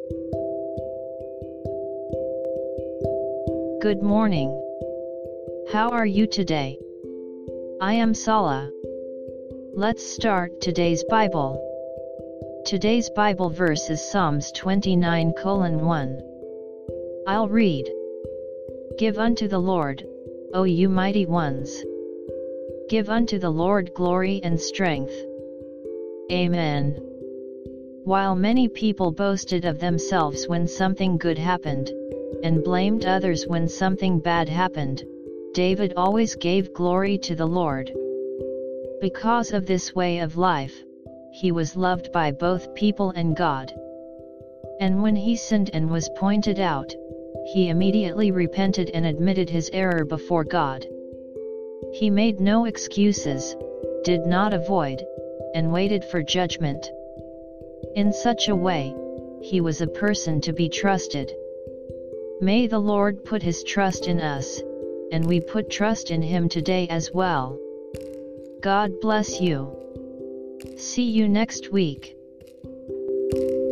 Good morning. How are you today? I am Sala. Let's start today's Bible. Today's Bible verse is Psalms 29:1. I'll read. Give unto the Lord, O you mighty ones. Give unto the Lord glory and strength. Amen. While many people boasted of themselves when something good happened, and blamed others when something bad happened, David always gave glory to the Lord. Because of this way of life, he was loved by both people and God. And when he sinned and was pointed out, he immediately repented and admitted his error before God. He made no excuses, did not avoid, and waited for judgment. In such a way, he was a person to be trusted. May the Lord put his trust in us, and we put trust in him today as well. God bless you. See you next week.